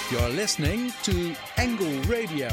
You're listening to Angle Radio.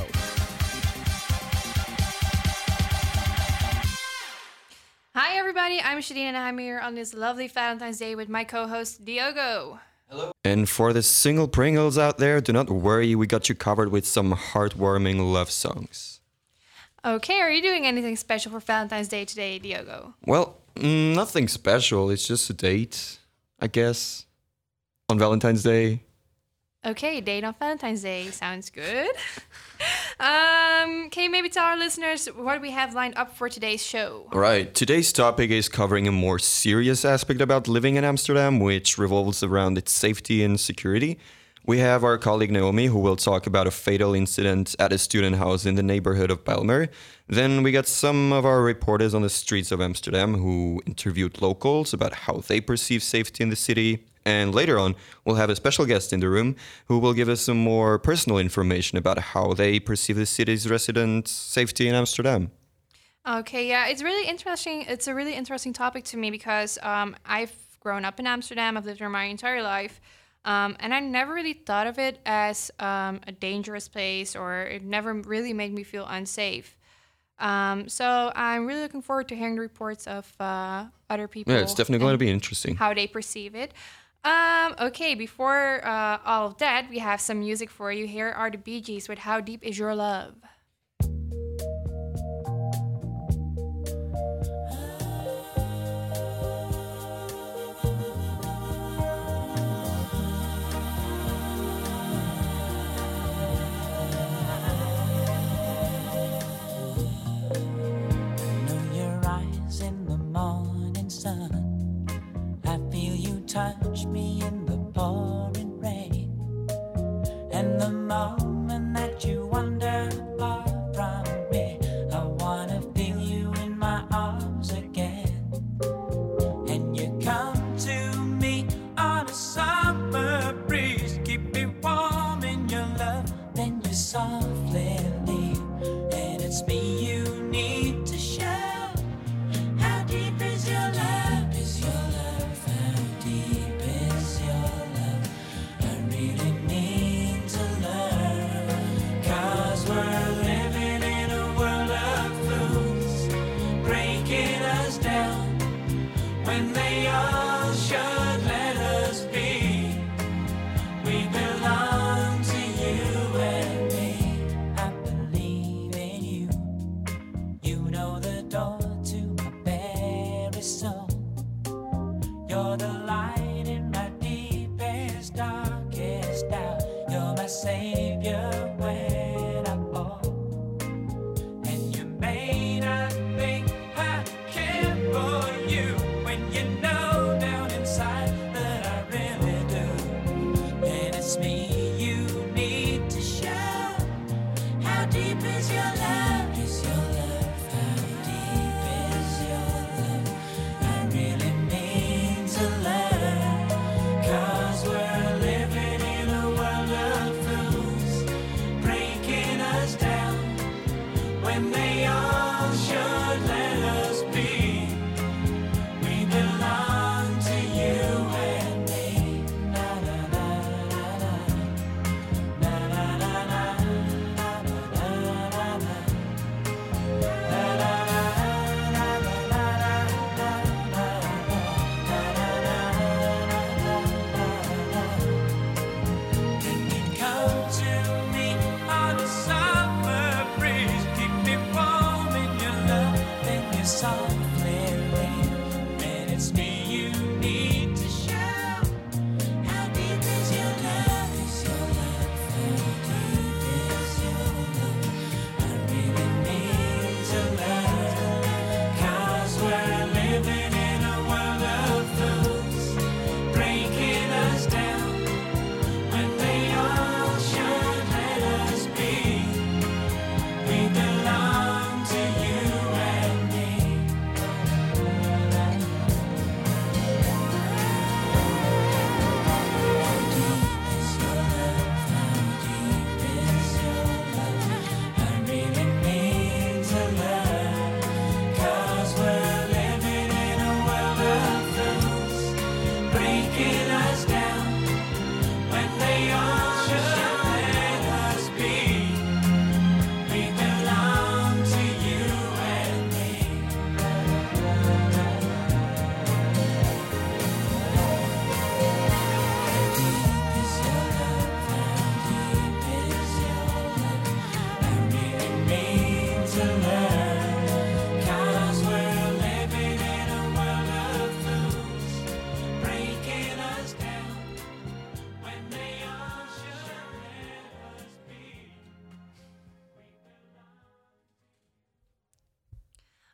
Hi everybody, I'm Shadine and I'm here on this lovely Valentine's Day with my co-host Diogo. And for the single Pringles out there, do not worry, we got you covered with some heartwarming love songs. Okay, are you doing anything special for Valentine's Day today, Diogo? Well, nothing special, it's just a date, I guess, on Valentine's Day. Okay, date on Valentine's Day, sounds good. Can you maybe tell our listeners what we have lined up for today's show? All right, today's topic is covering a more serious aspect about living in Amsterdam, which revolves around its safety and security. We have our colleague Naomi, who will talk about a fatal incident at a student house in the neighborhood of Bijlmer. Then we got some of our reporters on the streets of Amsterdam who interviewed locals about how they perceive safety in the city. And later on, we'll have a special guest in the room who will give us some more personal information about how they perceive the city's residents' safety in Amsterdam. Okay, yeah, it's really interesting. It's a really interesting topic to me because I've grown up in Amsterdam. I've lived there my entire life. And I never really thought of it as a dangerous place, or it never really made me feel unsafe. So I'm really looking forward to hearing the reports of other people. Yeah, it's definitely going to be interesting. How they perceive it. Okay, before all of that, we have some music for you. Here are the Bee Gees with How Deep Is Your Love? Touch me in the pouring rain, and the moment that you wander far from me, I wanna feel you in my arms again. And you come to me on a summer breeze, keep me warm in your love, then you softly leave, and it's me you need to show. How deep is your love? Is your love? How deep is your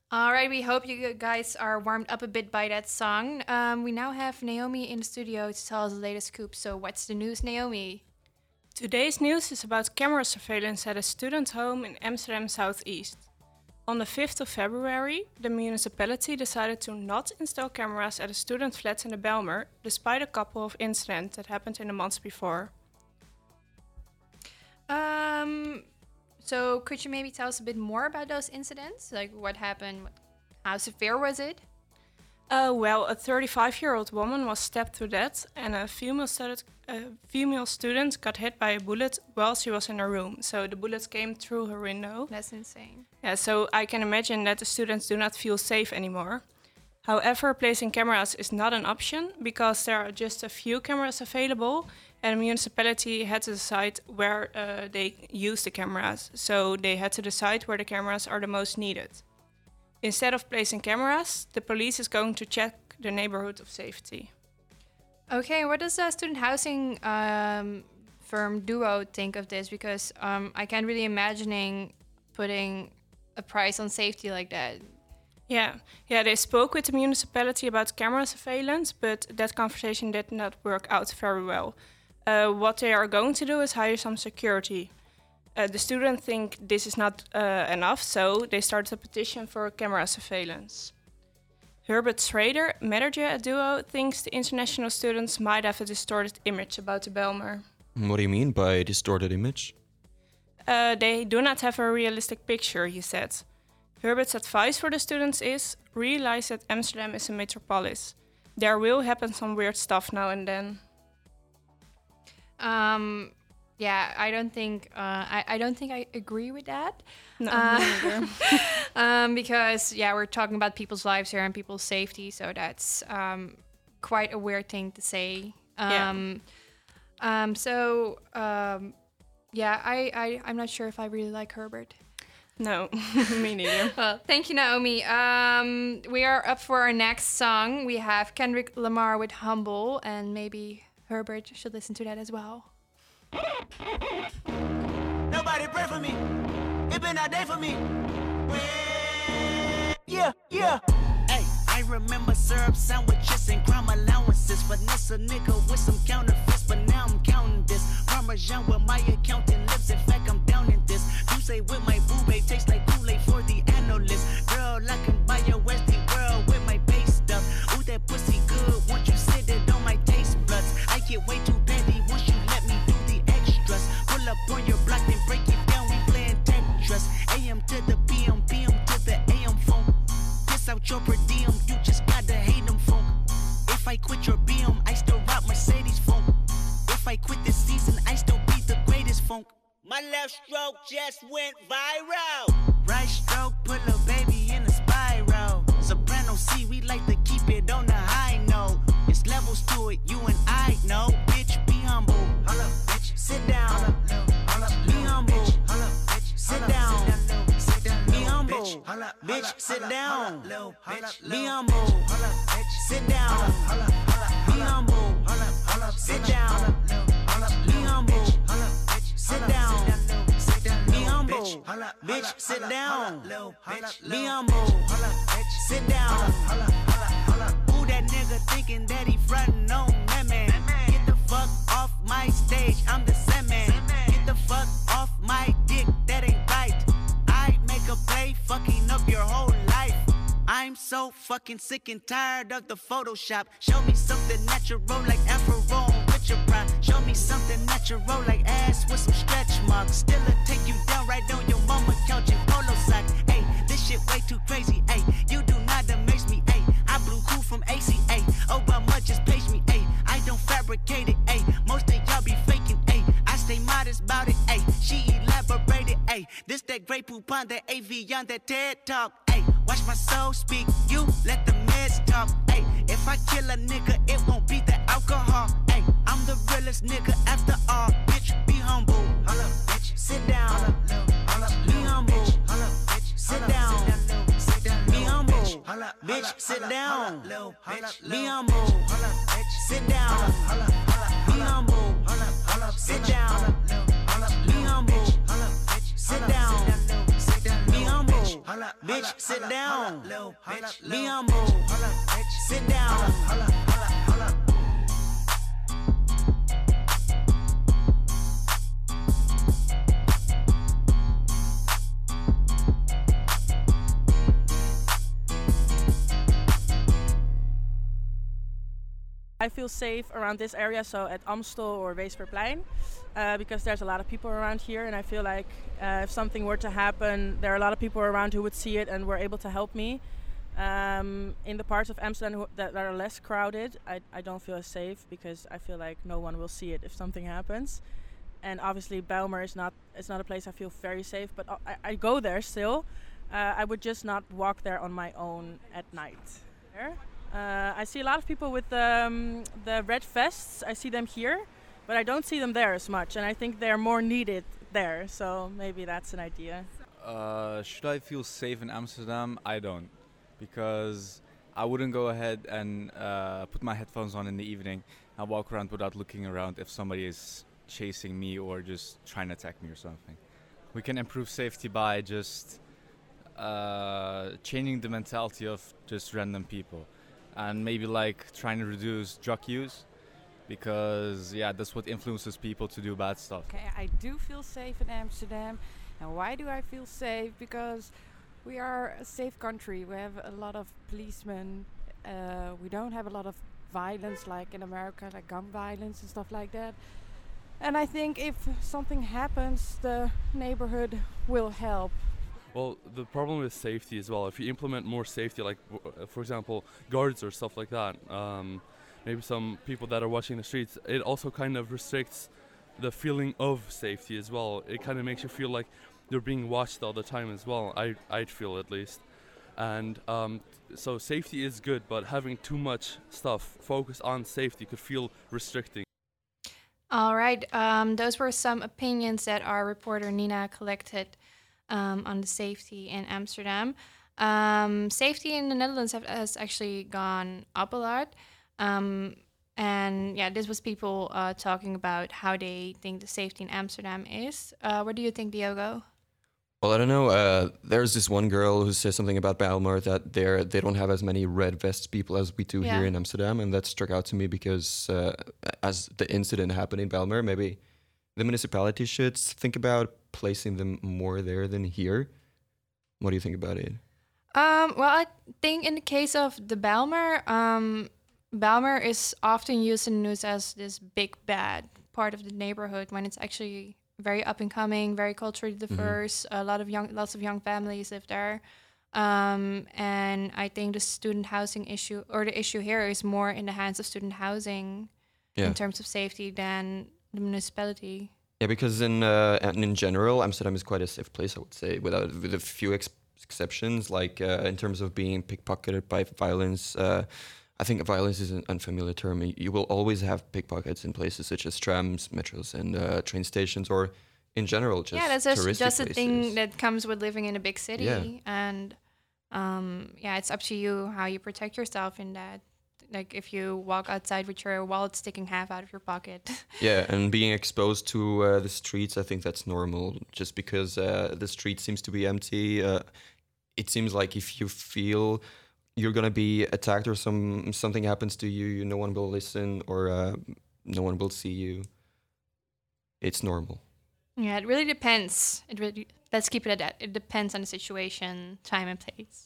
All right, we hope you guys are warmed up a bit by that song. We now have Naomi in the studio to tell us the latest scoop. So what's the news, Naomi? Today's news is about camera surveillance at a student home in Amsterdam Southeast. On the 5th of February, the municipality decided to not install cameras at a student flat in the Bijlmer, despite a couple of incidents that happened in the months before. So could you maybe tell us a bit more about those incidents? Like what happened? How severe was it? Well, a 35-year-old woman was stabbed to death, and a female student got hit by a bullet while she was in her room. So the bullet came through her window. That's insane. Yeah, so I can imagine that the students do not feel safe anymore. However, placing cameras is not an option because there are just a few cameras available, and the municipality had to decide where they use the cameras. So they had to decide where the cameras are the most needed. Instead of placing cameras, the police is going to check the neighborhood of safety. Okay, what does the student housing firm Duo think of this? Because I can't really imagining putting a price on safety like that. Yeah, they spoke with the municipality about camera surveillance, but that conversation did not work out very well. What they are going to do is hire some security. The students think this is not enough, so they started a petition for camera surveillance. Herbert Schrader, manager at Duo, thinks the international students might have a distorted image about the Bijlmer. What do you mean by distorted image? They do not have a realistic picture, he said. Herbert's advice for the students is, realize that Amsterdam is a metropolis. There will happen some weird stuff now and then. Yeah, I don't think I agree with that. No, me neither. Because we're talking about people's lives here and people's safety, so that's quite a weird thing to say. I'm not sure if I really like Herbert. No, me neither. Well, thank you, Naomi. We are up for our next song. We have Kendrick Lamar with Humble, and maybe Herbert should listen to that as well. Nobody pray for me. It been a day for me. Yeah. Hey, I remember syrup sandwiches and crime allowances. Finesse a nigga with some counterfeits, but now I'm counting this. Parmesan where my accountant lives. In fact, I'm down in this. You say with my boo babe tastes like Kool-Aid for the analyst. Girl, I can buy your Westie world with my base stuff. Ooh, that pussy good. Once you sit it on my taste buds, I get way too petty once you let me do the extras. Pull up on your block and break it down. We playing Tetris. AM to the PM, PM to the AM phone. Piss out your per diem, you just gotta hate them phone. If I quit your BM, I still rock Mercedes phone. If I quit this season, I still be the greatest funk. My left stroke just went viral. Right stroke put a baby in a spiral. Soprano C, we like to keep it on the high note. It's levels to it, you and I know. Bitch, be humble. Hold up, bitch. Sit down. Be humble. Sit down. Be humble. Bitch, sit down. Be humble. Sit down. Be humble. Sit down. Be humble. Sit down. Be humble. Bitch, sit down. Be humble. Sit down. Who that nigga thinking that he frontin' on that man? Get the fuck off my stage, I'm the Sandman. Get the fuck off my dick, that ain't right. I make a play, fucking up your whole life. I'm so fucking sick and tired of the Photoshop. Show me something natural like Afro with your prime. Show me something natural like ass with some stretch marks. Still'll take you down right on your mama couch in polo socks. Ayy, this shit way too crazy. Ayy, you do not amaze me. Ayy, I blew cool from ACA. Obama just page me. Ayy, I don't fabricate it. Ayy, most of y'all be faking. Ayy, I stay modest about it. Ayy, she elaborated. Ayy, this that great poop on that AV on that TED talk. Ayy, watch my soul speak. You let the meds talk. Ayy, if I kill a nigga, it won't be the alcohol. Ayy, I'm the realest nigga after all. Bitch, be humble. Hold up, bitch. Sit down. Be humble. Sit down. Be humble. Bitch, sit down. Be humble. Sit down. Be humble. Sit down. Be humble. Sit down. Be humble. bitch, sit down. Be humble, sit down. I feel safe around this area, so at Amstel or Weesperplein, because there's a lot of people around here, and I feel like if something were to happen, there are a lot of people around who would see it and were able to help me. In the parts of Amsterdam that are less crowded, I don't feel as safe because I feel like no one will see it if something happens. And obviously Bijlmer is not a place I feel very safe, but I go there still. I would just not walk there on my own at night. I see a lot of people with the red vests. I see them here, but I don't see them there as much, and I think they're more needed there, so maybe that's an idea. Should I feel safe in Amsterdam? I don't, because I wouldn't go ahead and put my headphones on in the evening and walk around without looking around if somebody is chasing me or just trying to attack me or something. We can improve safety by just changing the mentality of just random people. And maybe like trying to reduce drug use, because that's what influences people to do bad stuff. Okay, I do feel safe in Amsterdam. And why do I feel safe? Because we are a safe country. We have a lot of policemen. We don't have a lot of violence like in America, like gun violence and stuff like that. And I think if something happens, the neighborhood will help. Well, the problem is safety as well. If you implement more safety, like for example, guards or stuff like that, maybe some people that are watching the streets, it also kind of restricts the feeling of safety as well. It kind of makes you feel like you're being watched all the time as well. I'd feel at least. And so safety is good, but having too much stuff focused on safety could feel restricting. All right, those were some opinions that our reporter Nina collected on the safety in Amsterdam. Safety in the Netherlands has actually gone up a lot. And this was people talking about how they think the safety in Amsterdam is. What do you think, Diogo? Well, I don't know. There's this one girl who says something about Bijlmer that they don't have as many red vest people as we do here in Amsterdam, and that struck out to me because as the incident happened in Bijlmer, maybe the municipality should think about placing them more there than here. What do you think about it? Well, I think in the case of the Bijlmer, Bijlmer is often used in the news as this big bad part of the neighborhood when it's actually very up and coming, very culturally diverse. Lots of young families live there, and I think the student housing issue or the issue here is more in the hands of student housing in terms of safety than the municipality. Yeah, because in general, Amsterdam is quite a safe place, I would say, with a few exceptions. Like in terms of being pickpocketed by violence, I think violence is an unfamiliar term. You will always have pickpockets in places such as trams, metros, and train stations, or in general, just that's just a places. thing that comes with living in a big city. And it's up to you how you protect yourself in that. Like if you walk outside with your wallet sticking half out of your pocket. Yeah, and being exposed to the streets, I think that's normal. Just because the street seems to be empty, it seems like if you feel you're gonna be attacked or something happens to you, no one will listen or no one will see you. It's normal. Yeah, it really depends. Let's keep it at that. It depends on the situation, time, and place.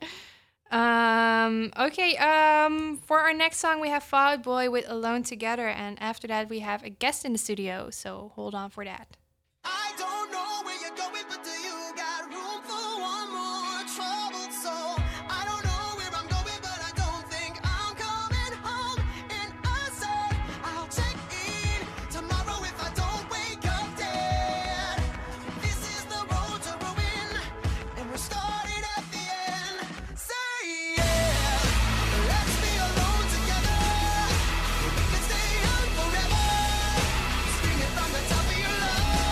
For our next song, we have Fall Out Boy with Alone Together, and after that, we have a guest in the studio. So hold on for that. I don't know where you're going, but do you got room for one more troubled soul? I don't know where I'm going, but I don't think I'm coming home. And I said I'll check in tomorrow if I don't wake up dead. This is the road to ruin, and we're starting at the end. Say yeah, let's be alone together. We can stay young forever. Scream it from the top of your lungs.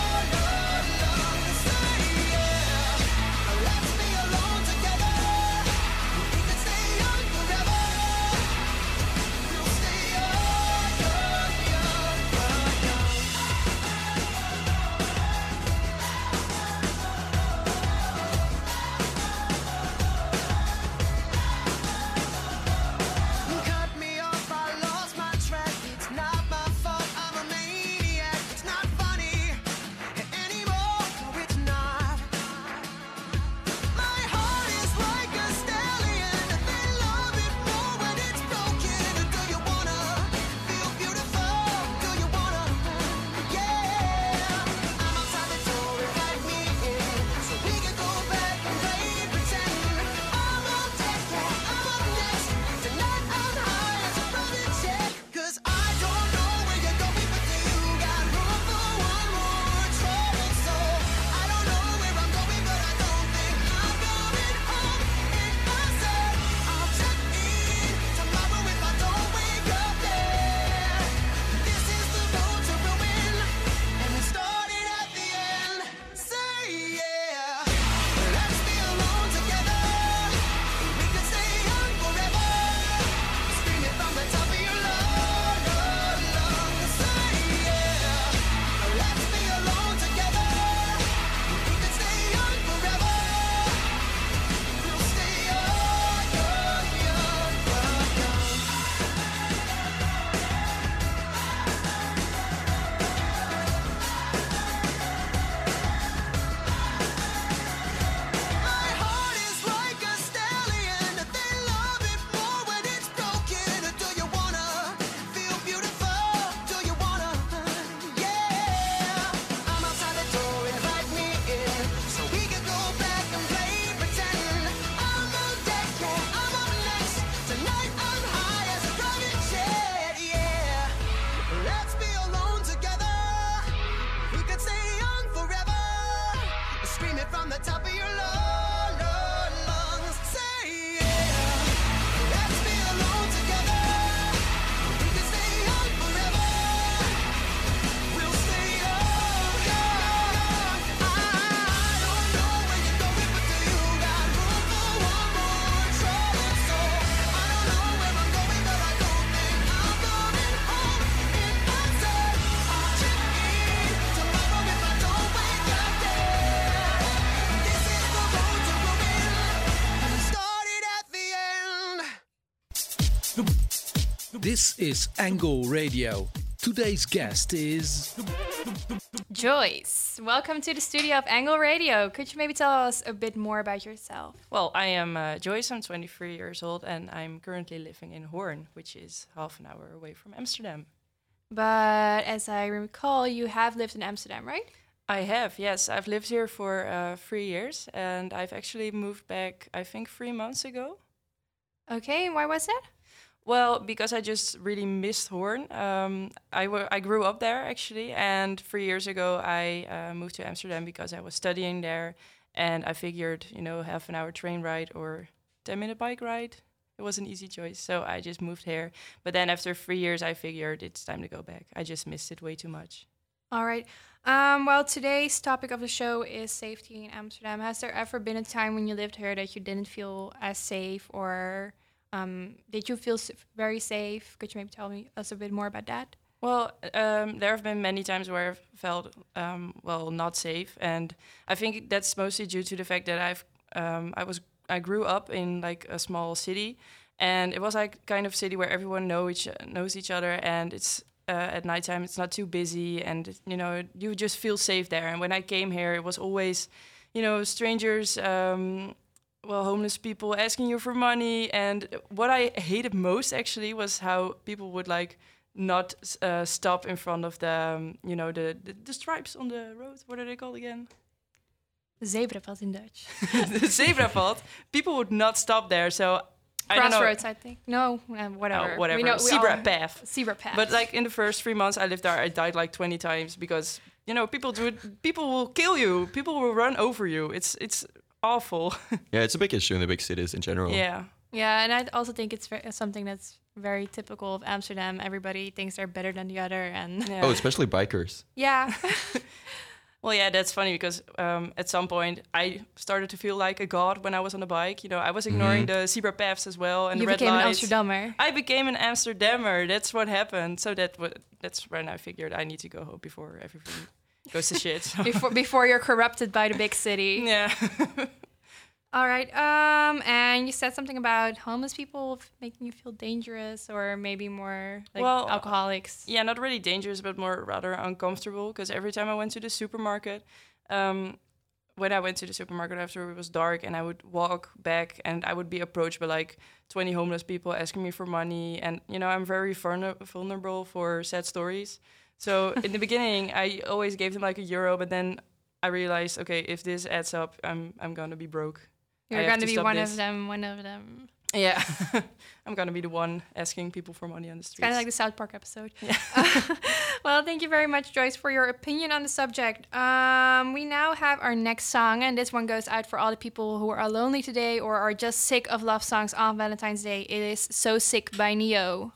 This is Angle Radio. Today's guest is Joyce, welcome to the studio of Angle Radio. Could you maybe tell us a bit more about yourself? Well, I am Joyce, I'm 23 years old, and I'm currently living in Hoorn, which is half an hour away from Amsterdam. But as I recall, you have lived in Amsterdam, right? I have, yes. I've lived here for 3 years, and I've actually moved back, I think, 3 months ago. Okay, and why was that? Well, because I just really missed Hoorn. I grew up there, actually, and 3 years ago I moved to Amsterdam because I was studying there, and I figured, half an hour train ride or 10-minute bike ride, it was an easy choice, so I just moved here. But then after 3 years, I figured it's time to go back. I just missed it way too much. All right. Well, today's topic of the show is safety in Amsterdam. Has there ever been a time when you lived here that you didn't feel as safe, or did you feel very safe? Could you maybe tell us a bit more about that? Well, there have been many times where I've felt, not safe. And I think that's mostly due to the fact that I grew up in like a small city, and it was like kind of city where everyone knows each other, and it's at nighttime it's not too busy, and you just feel safe there. And when I came here, it was always, strangers, homeless people asking you for money. And what I hated most actually was how people would like not stop in front of the the stripes on the road. What are they called again? Zebrapad in Dutch. The zebrapad. People would not stop there, so I don't know. Crossroads, I think. No, whatever. Oh, whatever. Zebra path. Zebra path. But like in the first 3 months I lived there, I died like 20 times because people will kill you. People will run over you. It's awful. Yeah, it's a big issue in the big cities in general. Yeah, and I also think it's something that's very typical of Amsterdam. Everybody thinks they're better than the other, and Oh, especially bikers. Yeah. Well, yeah, that's funny because at some point I started to feel like a god when I was on the bike. I was ignoring the zebra paths as well and you the red became lights. an Amsterdammer. I became an Amsterdammer. That's what happened. So that's when I figured I need to go home before everything goes to shit. So. Before you're corrupted by the big city. Yeah. All right. And you said something about homeless people making you feel dangerous, or maybe more like alcoholics. Yeah, not really dangerous, but more rather uncomfortable. Because every time I went to the supermarket, when I went to the supermarket after it was dark, and I would walk back, and I would be approached by like 20 homeless people asking me for money, and I'm very vulnerable for sad stories. So in the beginning, I always gave them like €1, but then I realized, okay, if this adds up, I'm gonna be broke. You're going to be one of them. Yeah. I'm going to be the one asking people for money on the streets. Kind of like the South Park episode. Yeah. Well, thank you very much, Joyce, for your opinion on the subject. We now have our next song, and this one goes out for all the people who are lonely today or are just sick of love songs on Valentine's Day. It is So Sick by Neo.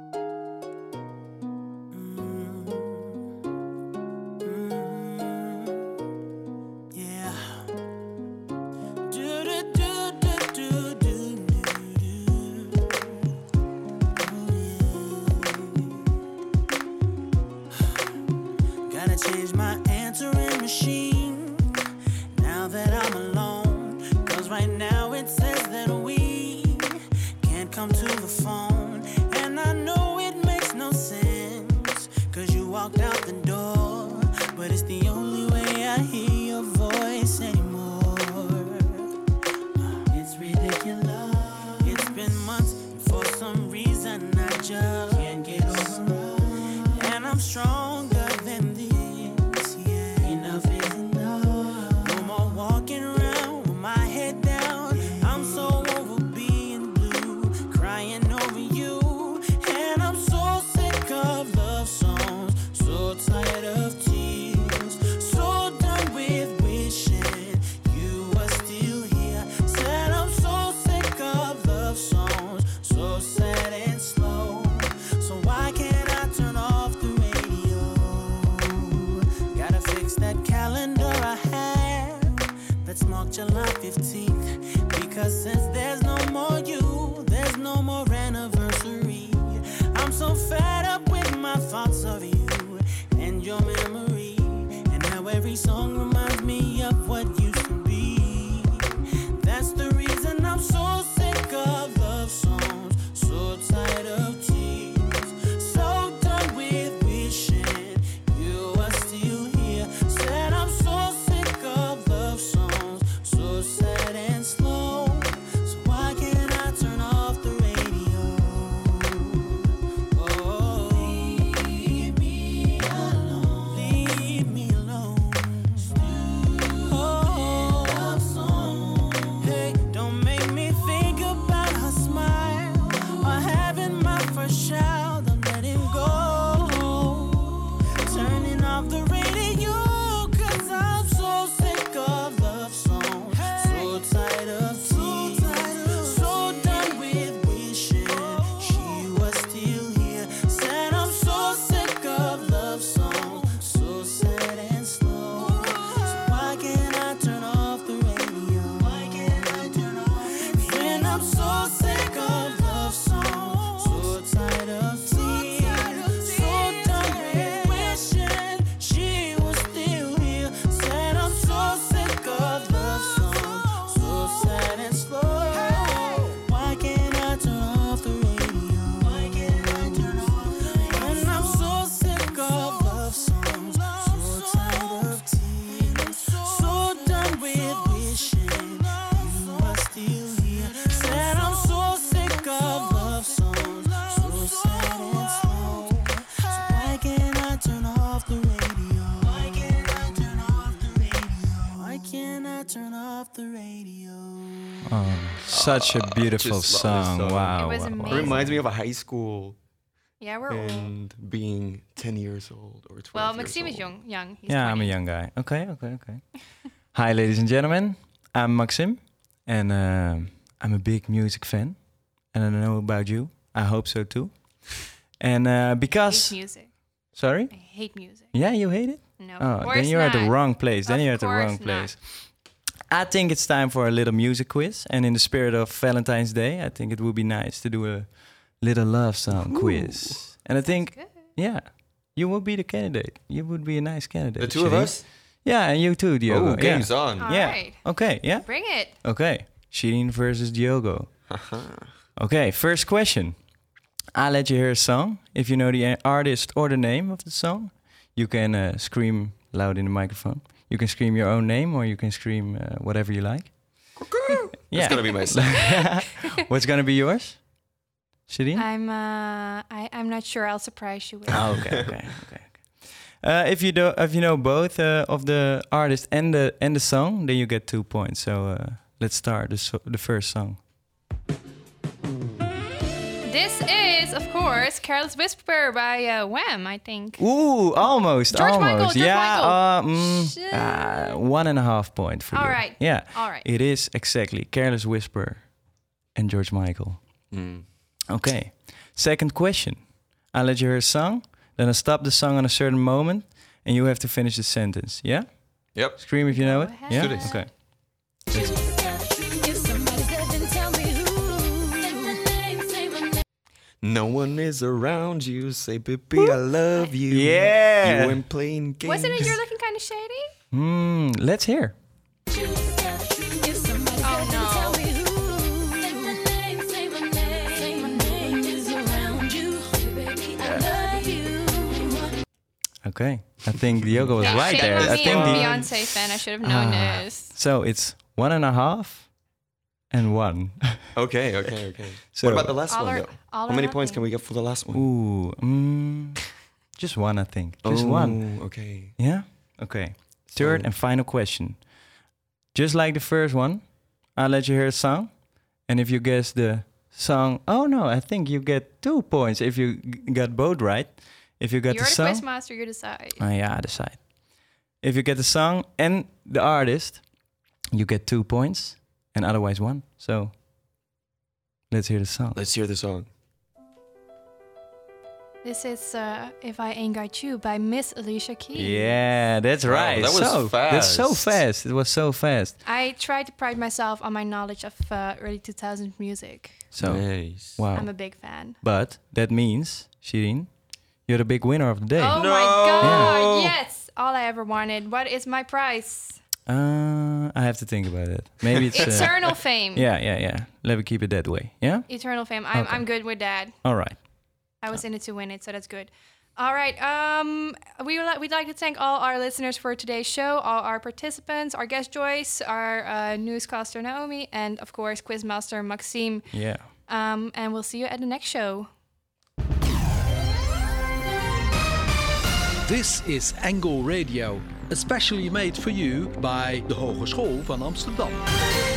Change my answering machine now that I'm alone, 'cause right now it says that we can't come to the phone, and I know it makes no sense 'cause you walked out the door, but it's the only way I hear your voice anymore. It's ridiculous. It's been months, and for some reason I just can't get over it, and I'm stronger than this. Enough is enough. No more walking around with my head down. I'm so over being blue, crying over you. And I'm so sick of love songs, so tired of tears, so done with wishing you were still here. Said I'm so sick of love songs, so sad and slow. So why can't I turn off the radio? Gotta fix that calendar I have that's marked July 15th, because since there's no more you, there's no more anniversary. I'm so fed up with my thoughts of you and your memory, and how every song reminds me of what used to be. That's the reason I'm so sick of love songs, so tired of tears. Such a beautiful just love this song. song. Wow. It was wow, wow. It amazing. reminds me of a high school Yeah, we're old. and being 10 years old or 12 Well, years Maxime is old. young. He's Yeah, 20. I'm a young guy. Okay. Hi, ladies and gentlemen. I'm Maxim, and I'm a big music fan. And I don't know about you. I hope so too. And I because... hate music. Sorry? I hate music. Yeah, you hate it? No, Oh, of course then you're at the not. wrong place. Then Of you're at the wrong course not. place. I think it's time for a little music quiz. And in the spirit of Valentine's Day, I think it would be nice to do a little love song quiz. And I think, yeah, you would be the candidate. You would be a nice candidate. The two of Shirin. us? Yeah, and you too, Diogo. Oh, game's on. All Yeah. right. Okay, yeah? Bring it. Okay. Shirin versus Diogo. Okay, first question. I'll let you hear a song. If you know the artist or the name of the song, you can scream loud in the microphone. You can scream your own name or you can scream whatever you like. That's going to be my song. What's going to be yours? Shirin? I'm not sure. I'll surprise you with. Oh, okay. If you know both of the artist and the song, then you get 2 points. So let's start the first song. This is, of course, Careless Whisper by Wham, I think. Ooh, almost. George Michael, George yeah, Michael. 1.5 point for All you. right. Yeah. All right. It is exactly Careless Whisper and George Michael. Okay. Second question. I'll let you hear a song, then I'll stop the song on a certain moment, and you have to finish the sentence. Yeah? Yep. Scream if you know it. ahead. Yeah? Let's do this. Okay. No one is around you. Say, baby, I love you. Yeah. You ain't playing games. Wasn't it You're Looking Kind of Shady? Let's hear. Oh, no. Okay. I think Diogo was Hey, right shame there. on I me, think I'm a the, Beyonce fan. I should have known this. So it's 1.5 and 1. Okay. So What about the last All one, or- though? all How or many points nothing. can we get for the last one? Ooh, just 1, I think. Just 1. Okay. Yeah? Okay. Third So- and final question. Just like the first one, I'll let you hear a song. And if you guess the song... Oh, no, I think you get 2 points if you got both right. If you got You're the the song... quizmaster, you decide. Yeah, I decide. If you get the song and the artist, you get 2 points. And otherwise 1. So, let's hear the song. Let's hear the song. This is If I Ain't Got You by Miss Alicia Keys. Yeah, that's Wow, right. that was That's so fast. fast. It was so fast. I try to pride myself on my knowledge of early 2000s music. So, Nice. wow. I'm a big fan. But that means, Shirin, you're the big winner of the day. Oh my god, yes! All I ever wanted. What is my prize? I have to think about it. Maybe it's Eternal fame. Yeah. Let me keep it that way. Yeah. Eternal fame. Okay. I'm good with that. All right. I was in it to win it, so that's good. All right. We'd like to thank all our listeners for today's show, all our participants, our guest Joyce, our newscaster Naomi, and of course Quizmaster Maxime. Yeah. And we'll see you at the next show. This is Angle Radio, especially made for you by de Hogeschool van Amsterdam.